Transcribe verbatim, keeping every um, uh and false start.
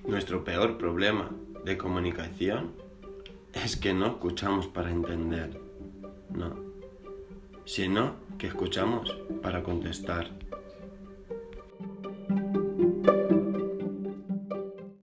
Nuestro peor problema de comunicación es que no escuchamos para entender, no, sino que escuchamos para contestar.